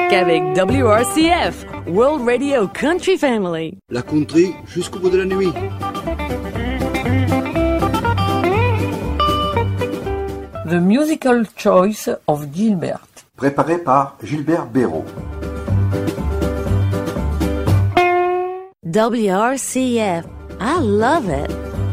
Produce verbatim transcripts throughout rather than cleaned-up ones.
musique avec W R C F, World Radio Country Family. La country jusqu'au bout de la nuit. The Musical Choice of Gilbert. Préparé par Gilbert Béraud. W R C F. I love it.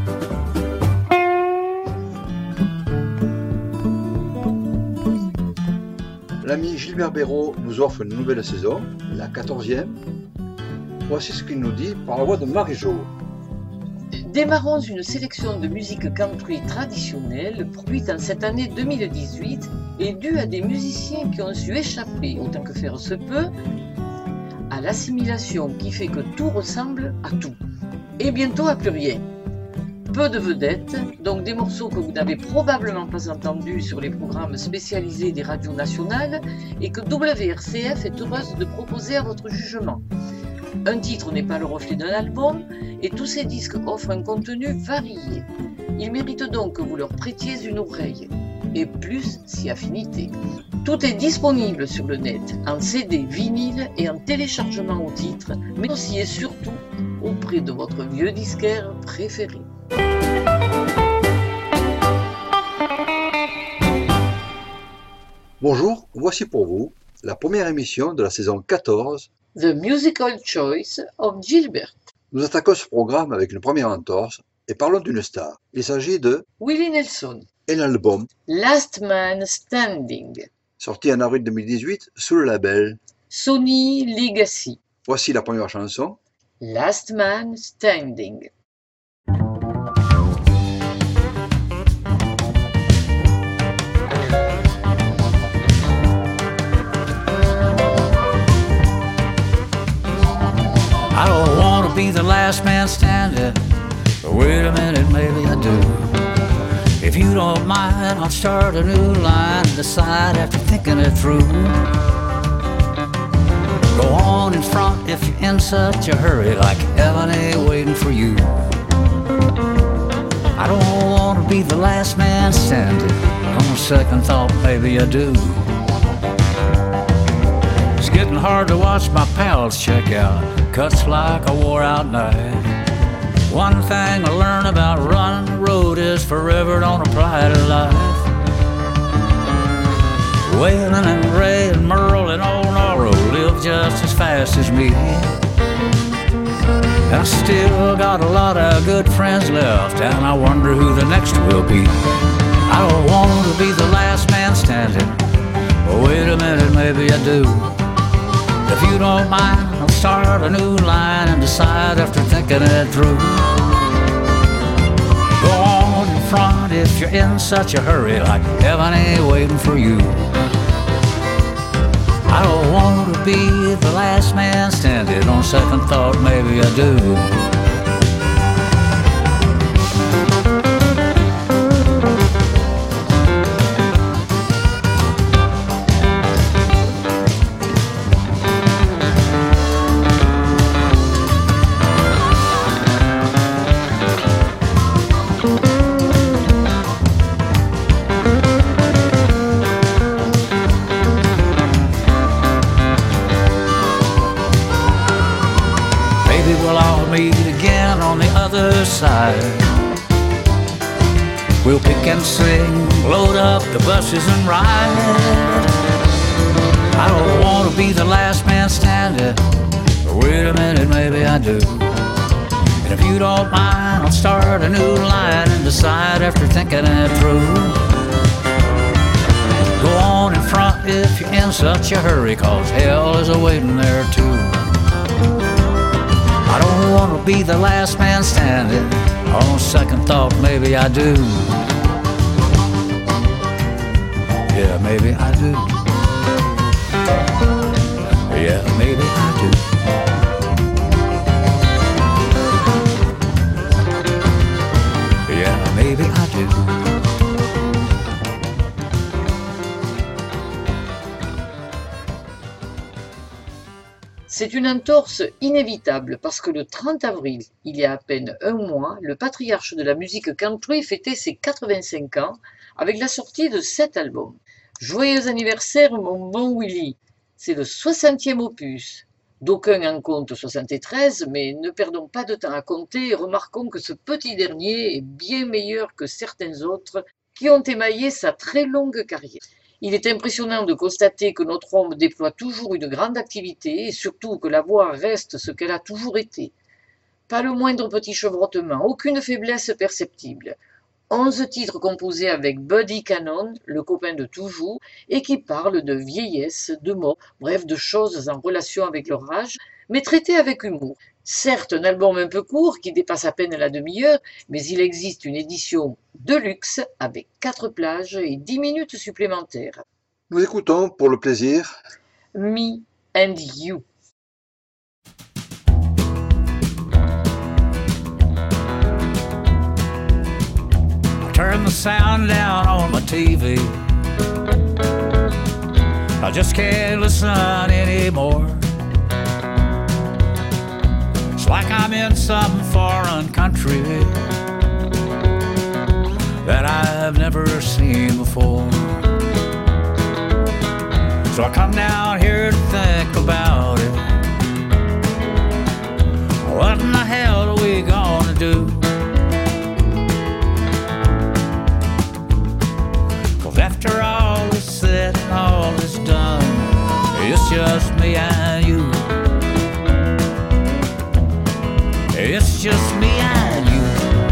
L'ami Gilbert Béraud nous offre une nouvelle saison, la quatorzième. Voici ce qu'il nous dit par la voix de Marie-Jo. Démarrons une sélection de musique country traditionnelle produite en cette année deux mille dix-huit et due à des musiciens qui ont su échapper, autant que faire se peut, à l'assimilation qui fait que tout ressemble à tout. Et bientôt à plus rien. Peu de vedettes, donc des morceaux que vous n'avez probablement pas entendus sur les programmes spécialisés des radios nationales et que W R C F est heureuse de proposer à votre jugement. Un titre n'est pas le reflet d'un album et tous ces disques offrent un contenu varié. Ils méritent donc que vous leur prêtiez une oreille, et plus si affinité. Tout est disponible sur le net, en C D, vinyle et en téléchargement au titre, mais aussi et surtout auprès de votre vieux disquaire préféré. Bonjour, voici pour vous la première émission de la saison quatorze. The Musical Choice of Gilbert. Nous attaquons ce programme avec une première entorse et parlons d'une star. Il s'agit de Willie Nelson. Et l'album Last Man Standing. Sorti en avril deux mille dix-huit sous le label Sony Legacy. Voici la première chanson. Last Man Standing. I don't want to be the last man standing, but wait a minute, maybe I do. If you don't mind, I'll start a new line and decide after thinking it through. Go on in front if you're in such a hurry, like heaven ain't waiting for you. I don't want to be the last man standing, on second thought, maybe I do. It's getting hard to watch my pals check out, cuts like a wore-out night. One thing I learned about running the road is forever don't apply to life. Waylon and Ray and Merle and old Norro live just as fast as me. And I still got a lot of good friends left, and I wonder who the next will be. I don't want to be the last man standing, but wait a minute, maybe I do. If you don't mind, I'll start a new line and decide after thinking it through. Go on in front if you're in such a hurry, like heaven ain't waiting for you. I don't want to be the last man standing, on second thought, maybe I do. Side. We'll pick and sing, load up the buses and ride. I don't want to be the last man standing, but wait a minute, maybe I do. And if you don't mind, I'll start a new line and decide after thinking it through. Go on in front if you're in such a hurry, cause hell is a-waiting there too. I don't want to be the last man standing, on second thought, maybe I do. Yeah, maybe I do. Yeah, maybe I do. Yeah, maybe I do. C'est une entorse inévitable parce que le trente avril, il y a à peine un mois, le patriarche de la musique country fêtait ses quatre-vingt-cinq ans avec la sortie de cet album. Joyeux anniversaire mon bon Willie. C'est le soixantième opus. D'aucuns en comptent soixante-treize, mais ne perdons pas de temps à compter et remarquons que ce petit dernier est bien meilleur que certains autres qui ont émaillé sa très longue carrière. Il est impressionnant de constater que notre homme déploie toujours une grande activité et surtout que la voix reste ce qu'elle a toujours été. Pas le moindre petit chevrotement, aucune faiblesse perceptible. Onze titres composés avec Buddy Cannon, le copain de toujours, et qui parlent de vieillesse, de mort, bref, de choses en relation avec leur âge, mais traités avec humour. Certes, un album un peu court, qui dépasse à peine la demi-heure, mais il existe une édition de luxe avec quatre plages et dix minutes supplémentaires. Nous écoutons pour le plaisir Me and You. Turn the sound down on my T V. I just can't listen anymore. It's like I'm in some foreign country that I've never seen before. So I come down here to think about it. What in the hell are we gonna do? After all is said and all is done, it's just me and you. It's just me and you.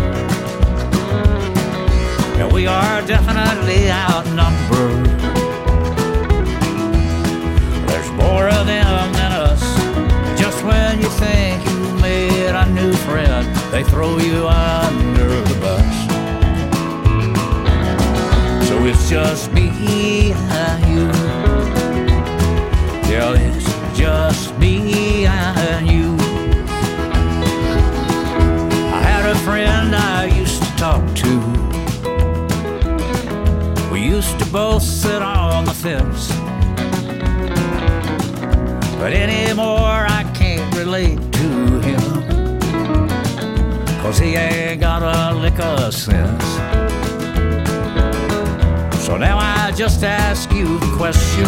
And we are definitely outnumbered. There's more of them than us. Just when you think you made a new friend, they throw you under the bus. So it's just me and you. Yeah, it's just me and you. I had a friend I used to talk to. We used to both sit on the fence. But anymore I can't relate to him, 'cause he ain't got a lick of sense. So now I just ask you the question,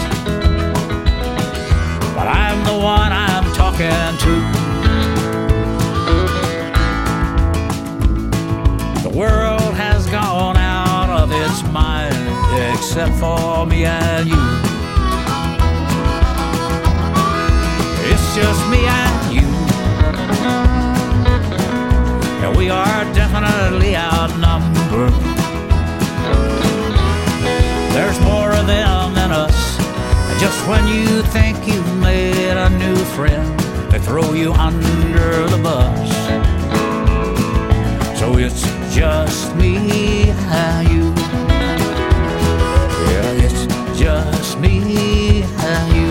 but I'm the one I'm talking to. The world has gone out of its mind, except for me and you. It's just me and you. And we are definitely outnumbered. There's more of them than us. Just when you think you've made a new friend, they throw you under the bus. So it's just me and you. Yeah, it's just me and you.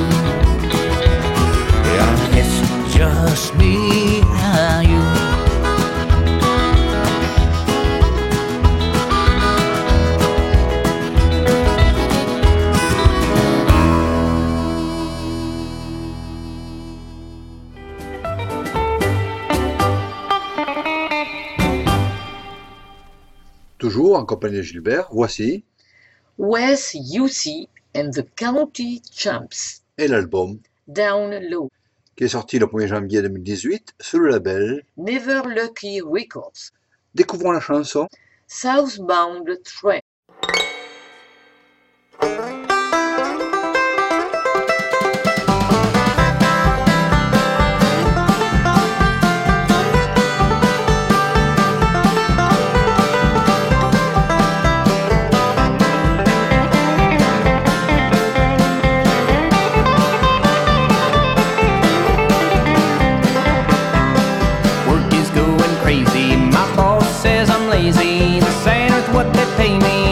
Yeah, it's just me and you. Toujours en compagnie de Gilbert, voici Wes U C and the County Champs, et l'album Down Low, qui est sorti le premier janvier deux mille dix-huit sous le label Never Lucky Records. Découvrons la chanson Southbound Train. Work is going crazy. My boss says I'm lazy. This ain't worth what they pay me.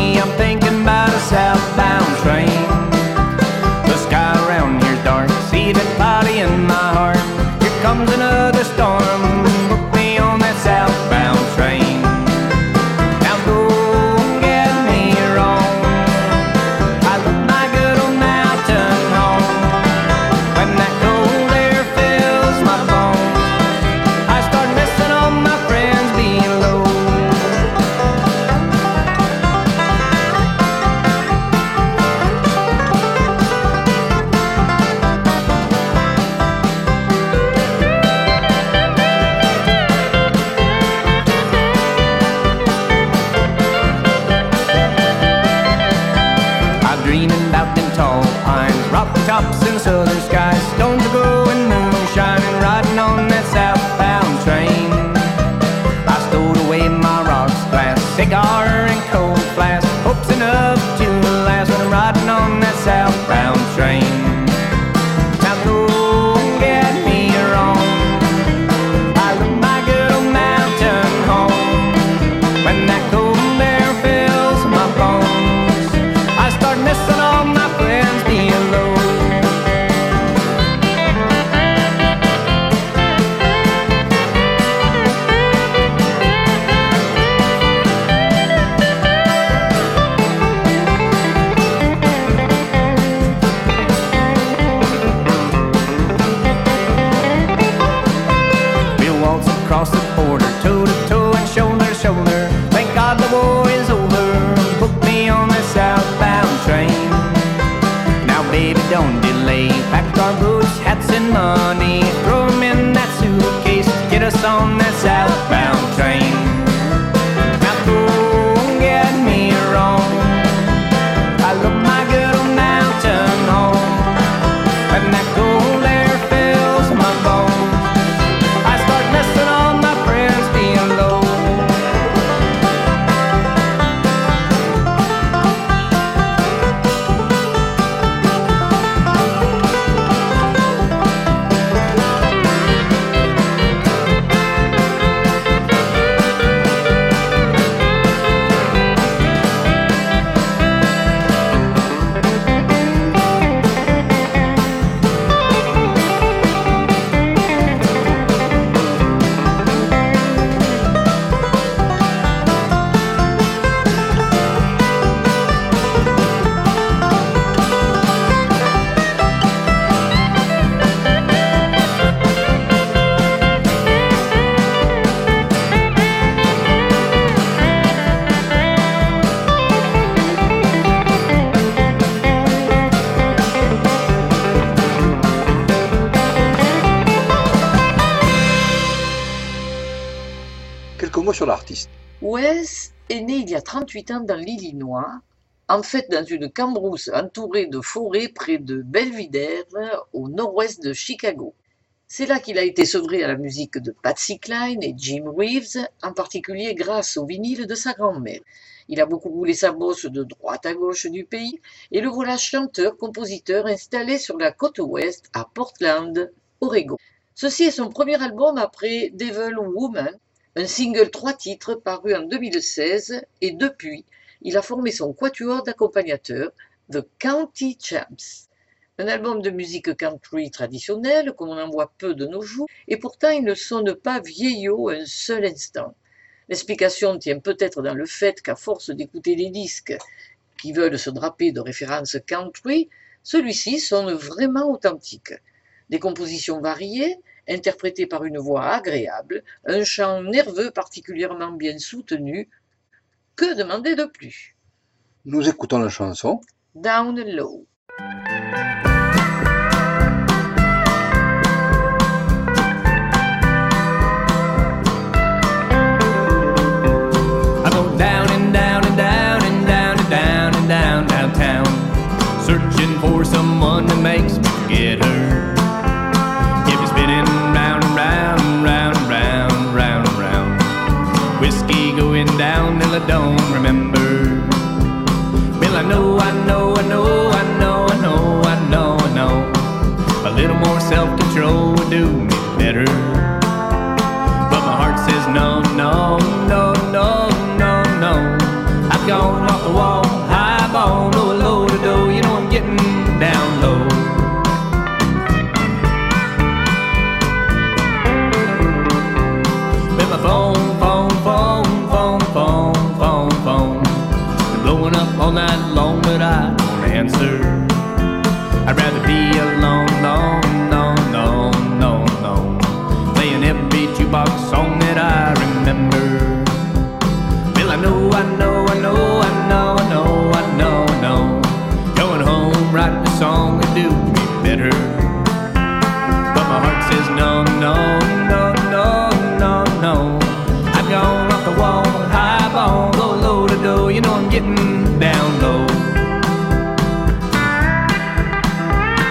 drop tops in the southern skies, stones are glowing, moon shining, riding on that southbound train. I stowed away my rocks, glass, cigar and cold flask, hopes enough to last when I'm riding on that southbound train. Now don't get me wrong, I love my good old mountain home. When that cold air fills my bones, I start missing all my friends below. Bill walks across the border, toe to toe and shoulder to shoulder. Thank God the war is over, book me on the southbound train. Now baby don't delay, pack our boots, hats and money, throw 'em in that suitcase, get us on that southbound train. Now don't get me wrong, I love my good old mountain home. When that cold air fills my bones, I start missing all my friends below. Quelques mots sur l'artiste. Wes est né il y a trente-huit ans dans l'Illinois, en fait dans une cambrousse entourée de forêts près de Belvidere, au nord-ouest de Chicago. C'est là qu'il a été sevré à la musique de Patsy Cline et Jim Reeves, en particulier grâce au vinyle de sa grand-mère. Il a beaucoup roulé sa bosse de droite à gauche du pays, et le voilà chanteur-compositeur installé sur la côte ouest à Portland, Oregon. Ceci est son premier album après Devil Woman, un single trois titres paru en deux mille seize, et depuis, il a formé son quatuor d'accompagnateurs, The County Champs. Un album de musique country traditionnelle, comme on en voit peu de nos jours, et pourtant il ne sonne pas vieillot un seul instant. L'explication tient peut-être dans le fait qu'à force d'écouter les disques qui veulent se draper de références country, celui-ci sonne vraiment authentique. Des compositions variées, interprétées par une voix agréable, un chant nerveux particulièrement bien soutenu. Que demander de plus? Nous écoutons la chanson Down Low. I go down and down and down and down and down and down downtown, searching for someone that makes me forget her. Get me spinning round and round and round and round, round and round. Whiskey going down till I don't remember. Well, I know, I know, I know, I know, I know, I know, I know. A little more self-control would do me better. But my heart says no, no, no, no, no, no. I've gone off the wall, high ball, low, low to do. You know I'm getting down low. But my phone, phone, phone, phone, phone, phone, phone, been blowing up all night long, but I don't answer. I'd rather be alone, no, no, no, no, no. Playing every jukebox song that I remember. Well, I know, I know, I know, I know, I know, I know, I know. Going home, writing a song would do me better. But my heart says no, no, no, no, no, no. I've gone off the wall, high ball, low, low to do. You know I'm getting down low.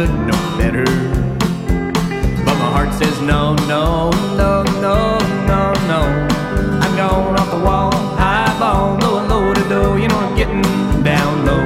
know better. But my heart says no, no, no, no, no, no. I'm going off the wall, high ball, low, low to do. You know I'm getting down low.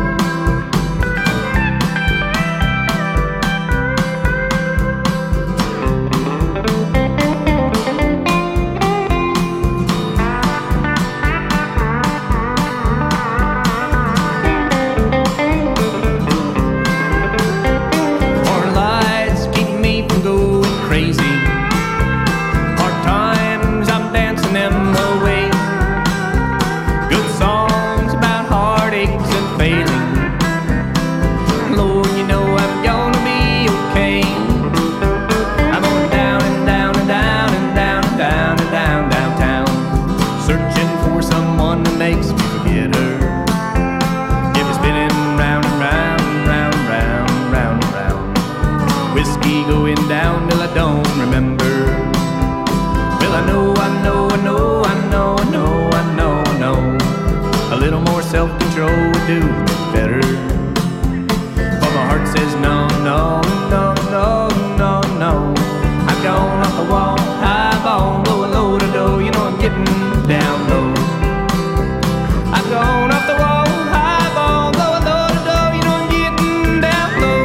Self-control would do better. But my heart says no, no, no, no, no, no. I've gone off the wall, high ball, low and low to do. You know I'm getting down low. I've gone off the wall, high ball, low and low to do. You know I'm getting down low.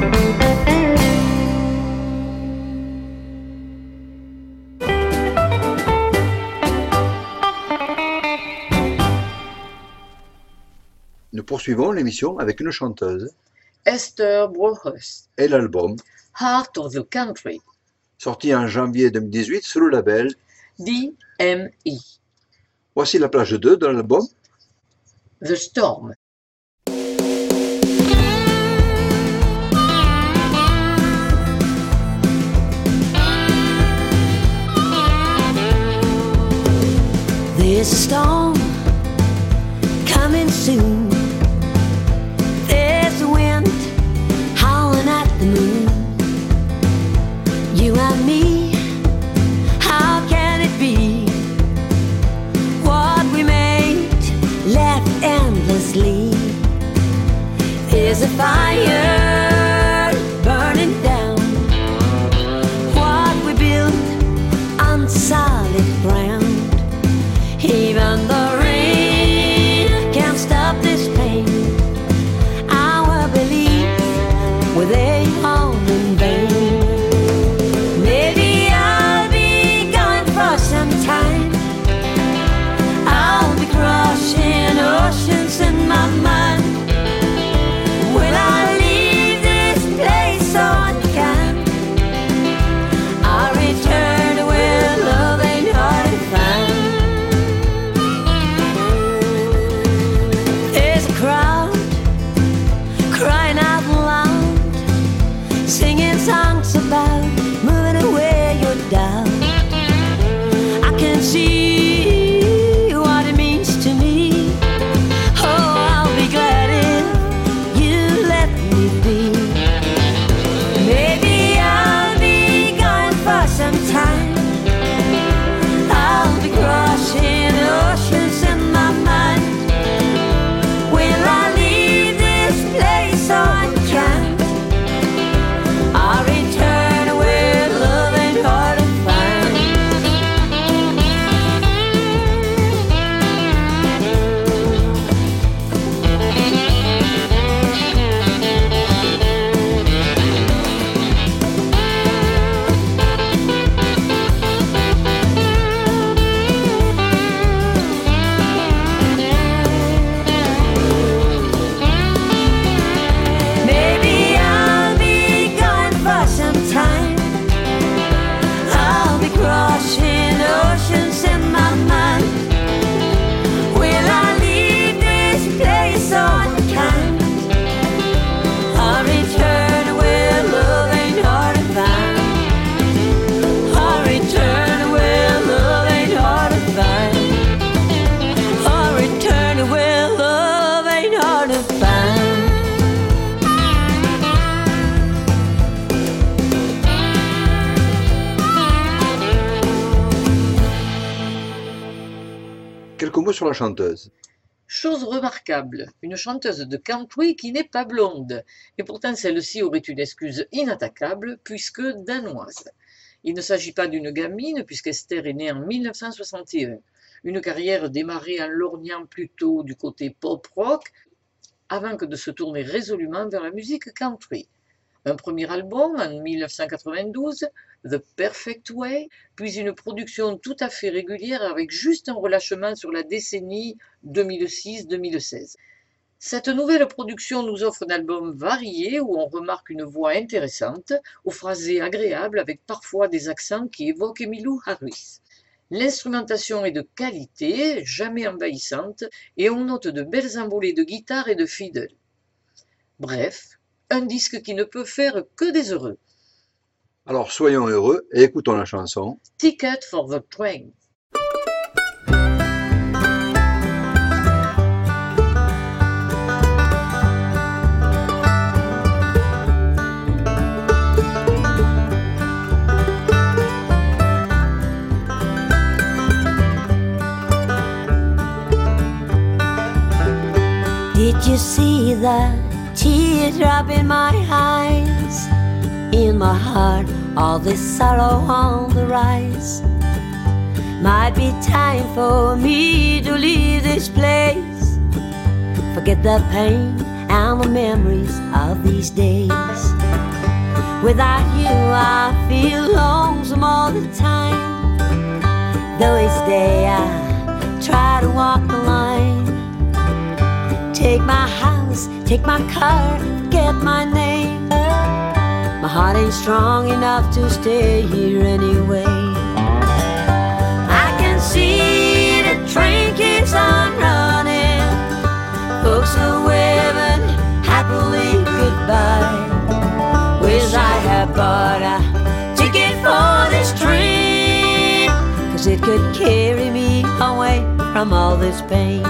Nous poursuivons l'émission avec une chanteuse Esther Brohus, et l'album Heart of the Country, sorti en janvier deux mille dix-huit sous le label D M E. Voici la plage deux de l'album The Storm. There's a storm coming soon. There's a wind howling at the moon. You and me, how can it be? What we made left endlessly. There's a fire burning down what we built on solid ground. Even the rain can't stop this pain. Our belief were they all in vain. Maybe I'll be gone for some time. I'll be crossing oceans in my mind. Will I leave this place so unkind? I'll return to where love ain't hard to find. Crying out loud, singing songs about moving away your doubt. I can see what it means to me. Oh, I'll be glad if you let me be. Maybe I'll be gone for some time. I'll be crossing oceans in my mind. Will I leave this place unkind? I'll return where love ain't hard to find. Maybe I'll be gone for some time. I'll be crossing oceans in my mind. Will I leave this place unkind? I'll return where love ain't hard to find. I'll return where love ain't hard to find. I'll return where love ain't hard to find. Quelques mots sur la chanteuse. Chose remarquable, une chanteuse de country qui n'est pas blonde, et pourtant celle-ci aurait une excuse inattaquable puisque danoise. Il ne s'agit pas d'une gamine puisqu'Esther est née en mille neuf cent soixante et un. Une carrière démarrée en lorgnant plutôt du côté pop-rock avant que de se tourner résolument vers la musique country. Un premier album en mille neuf cent quatre-vingt-douze, The Perfect Way, puis une production tout à fait régulière avec juste un relâchement sur la décennie deux mille six deux mille seize. Cette nouvelle production nous offre un album varié où on remarque une voix intéressante, aux phrasés agréables avec parfois des accents qui évoquent Emmylou Harris. L'instrumentation est de qualité, jamais envahissante, et on note de belles envolées de guitare et de fiddle. Bref, un disque qui ne peut faire que des heureux. Alors soyons heureux et écoutons la chanson Ticket for the Train. Did you see the teardrop in my eyes? In my heart, all this sorrow on the rise. Might be time for me to leave this place. Forget the pain and the memories of these days. Without you, I feel lonesome all the time. Though each day I try to walk the line. Take my house, take my car, forget my name. My heart ain't strong enough to stay here anyway. I can see the train keeps on running. Folks are waving happily goodbye. Wish I had bought a ticket for this train, 'cause it could carry me away from all this pain.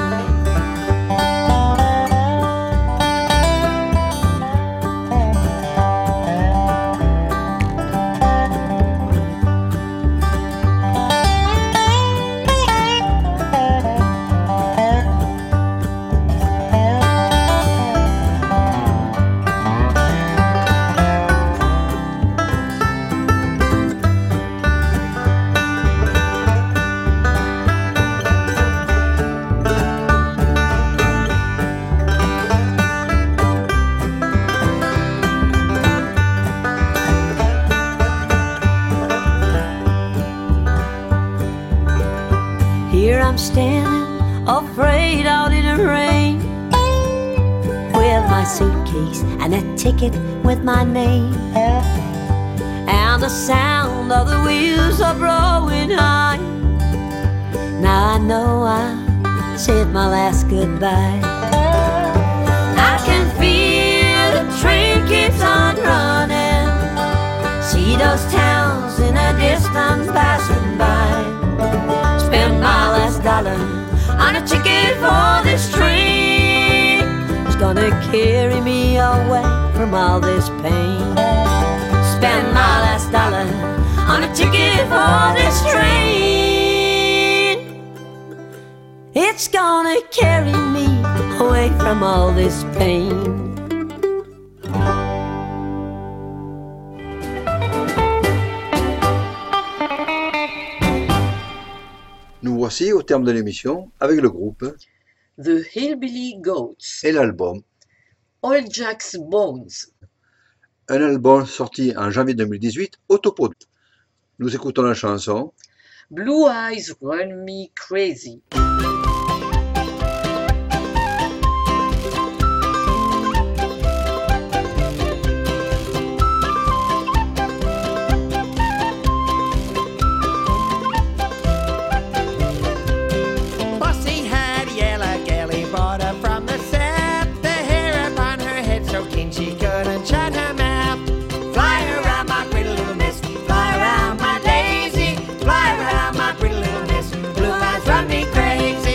I'm standing afraid out in the rain, with my suitcase and a ticket with my name, and the sound of the wheels are blowing high. Now I know I said my last goodbye. I can feel the train keeps on running. See those towns in the distance passing by. Spend my last dollar on a ticket for this train. It's gonna carry me away from all this pain. Spend my last dollar on a ticket for this train. It's gonna carry me away from all this pain. Nous voici au terme de l'émission avec le groupe The Hillbilly Goats et l'album Old Jack's Bones. Un album sorti en janvier deux mille dix-huit au topo. Nous écoutons la chanson Blue Eyes Run Me Crazy. Fly around my pretty little miss, blue eyes run me crazy.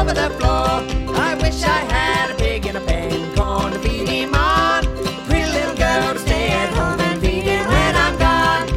over the floor. I wish I had a pig in a pen, corn to feed him on. Pretty little girl to stay at home and feed him when I'm gone.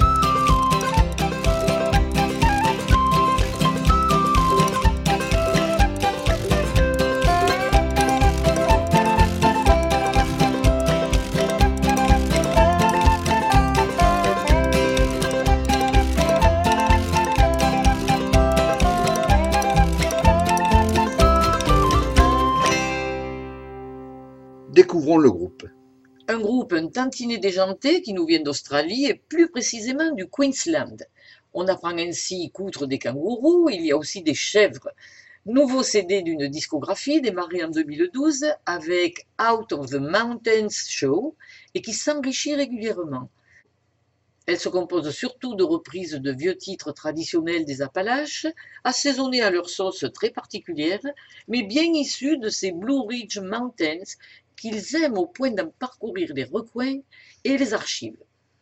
Découvrons le groupe. Un groupe un tantinet déjanté qui nous vient d'Australie et plus précisément du Queensland. On apprend ainsi coudre des kangourous, il y a aussi des chèvres. Nouveau C D d'une discographie démarré en deux mille douze avec Out of the Mountains Show et qui s'enrichit régulièrement. Elle se compose surtout de reprises de vieux titres traditionnels des Appalaches, assaisonnés à leur sauce très particulière, mais bien issus de ces Blue Ridge Mountains qu'ils aiment au point d'en parcourir les recoins et les archives.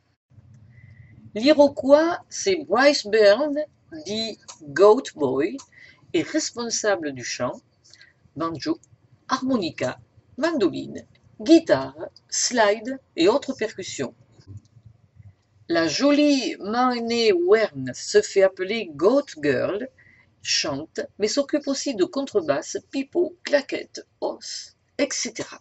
L'Iroquois, c'est Bryce Byrne, dit Goat Boy, est responsable du chant, banjo, harmonica, mandoline, guitare, slide et autres percussions. La jolie Marnie Wern se fait appeler Goat Girl, chante, mais s'occupe aussi de contrebasse, pipeau, claquettes, os, et cetera.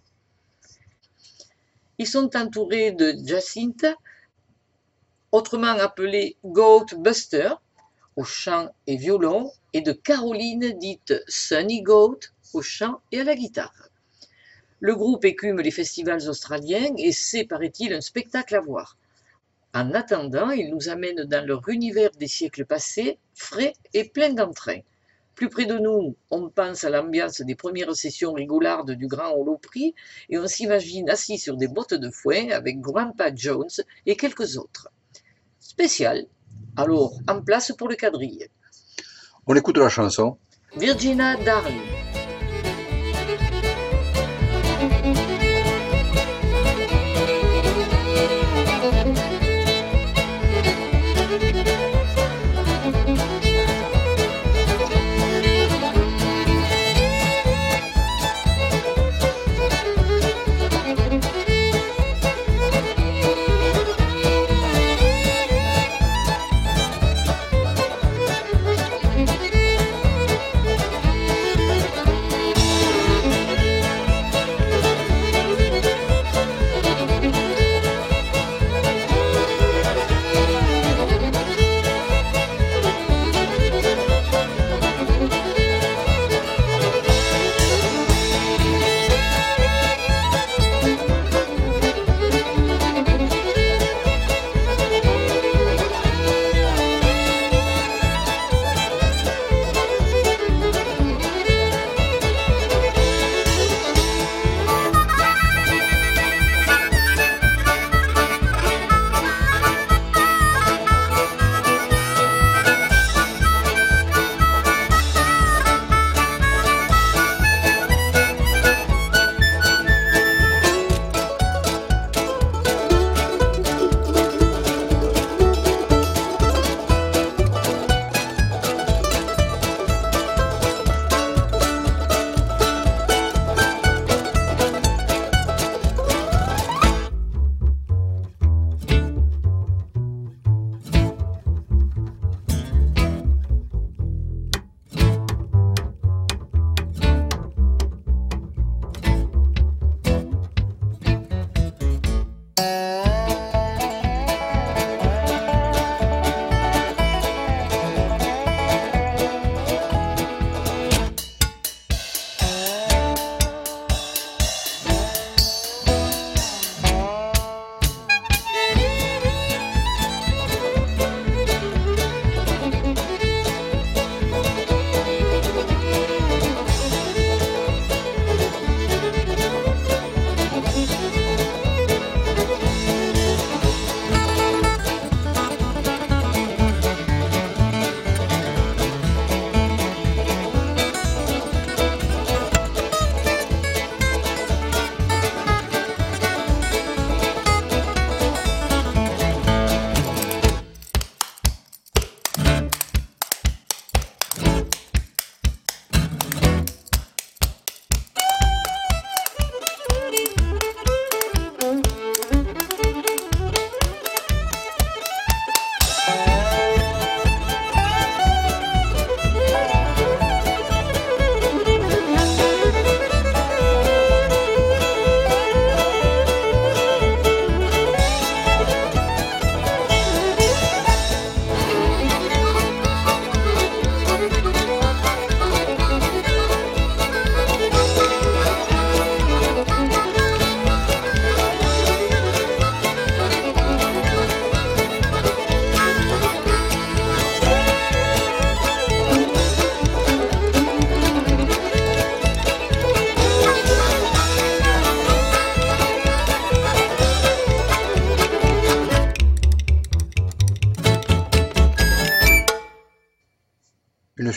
Ils sont entourés de Jacinta, autrement appelée Goat Buster, au chant et violon, et de Caroline, dite Sunny Goat, au chant et à la guitare. Le groupe écume les festivals australiens et c'est, paraît-il, un spectacle à voir. En attendant, ils nous amènent dans leur univers des siècles passés, frais et plein d'entrain. Plus près de nous, on pense à l'ambiance des premières sessions rigolardes du Grand Holoprix et on s'imagine assis sur des bottes de foin avec Grandpa Jones et quelques autres. Spécial. Alors, en place pour le quadrille. On écoute la chanson. Virginia Darling.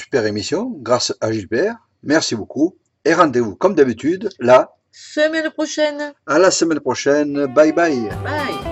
super émission grâce à Gilbert. Merci beaucoup. Et rendez-vous comme d'habitude, là. Semaine prochaine. À la semaine prochaine. Bye bye. Bye.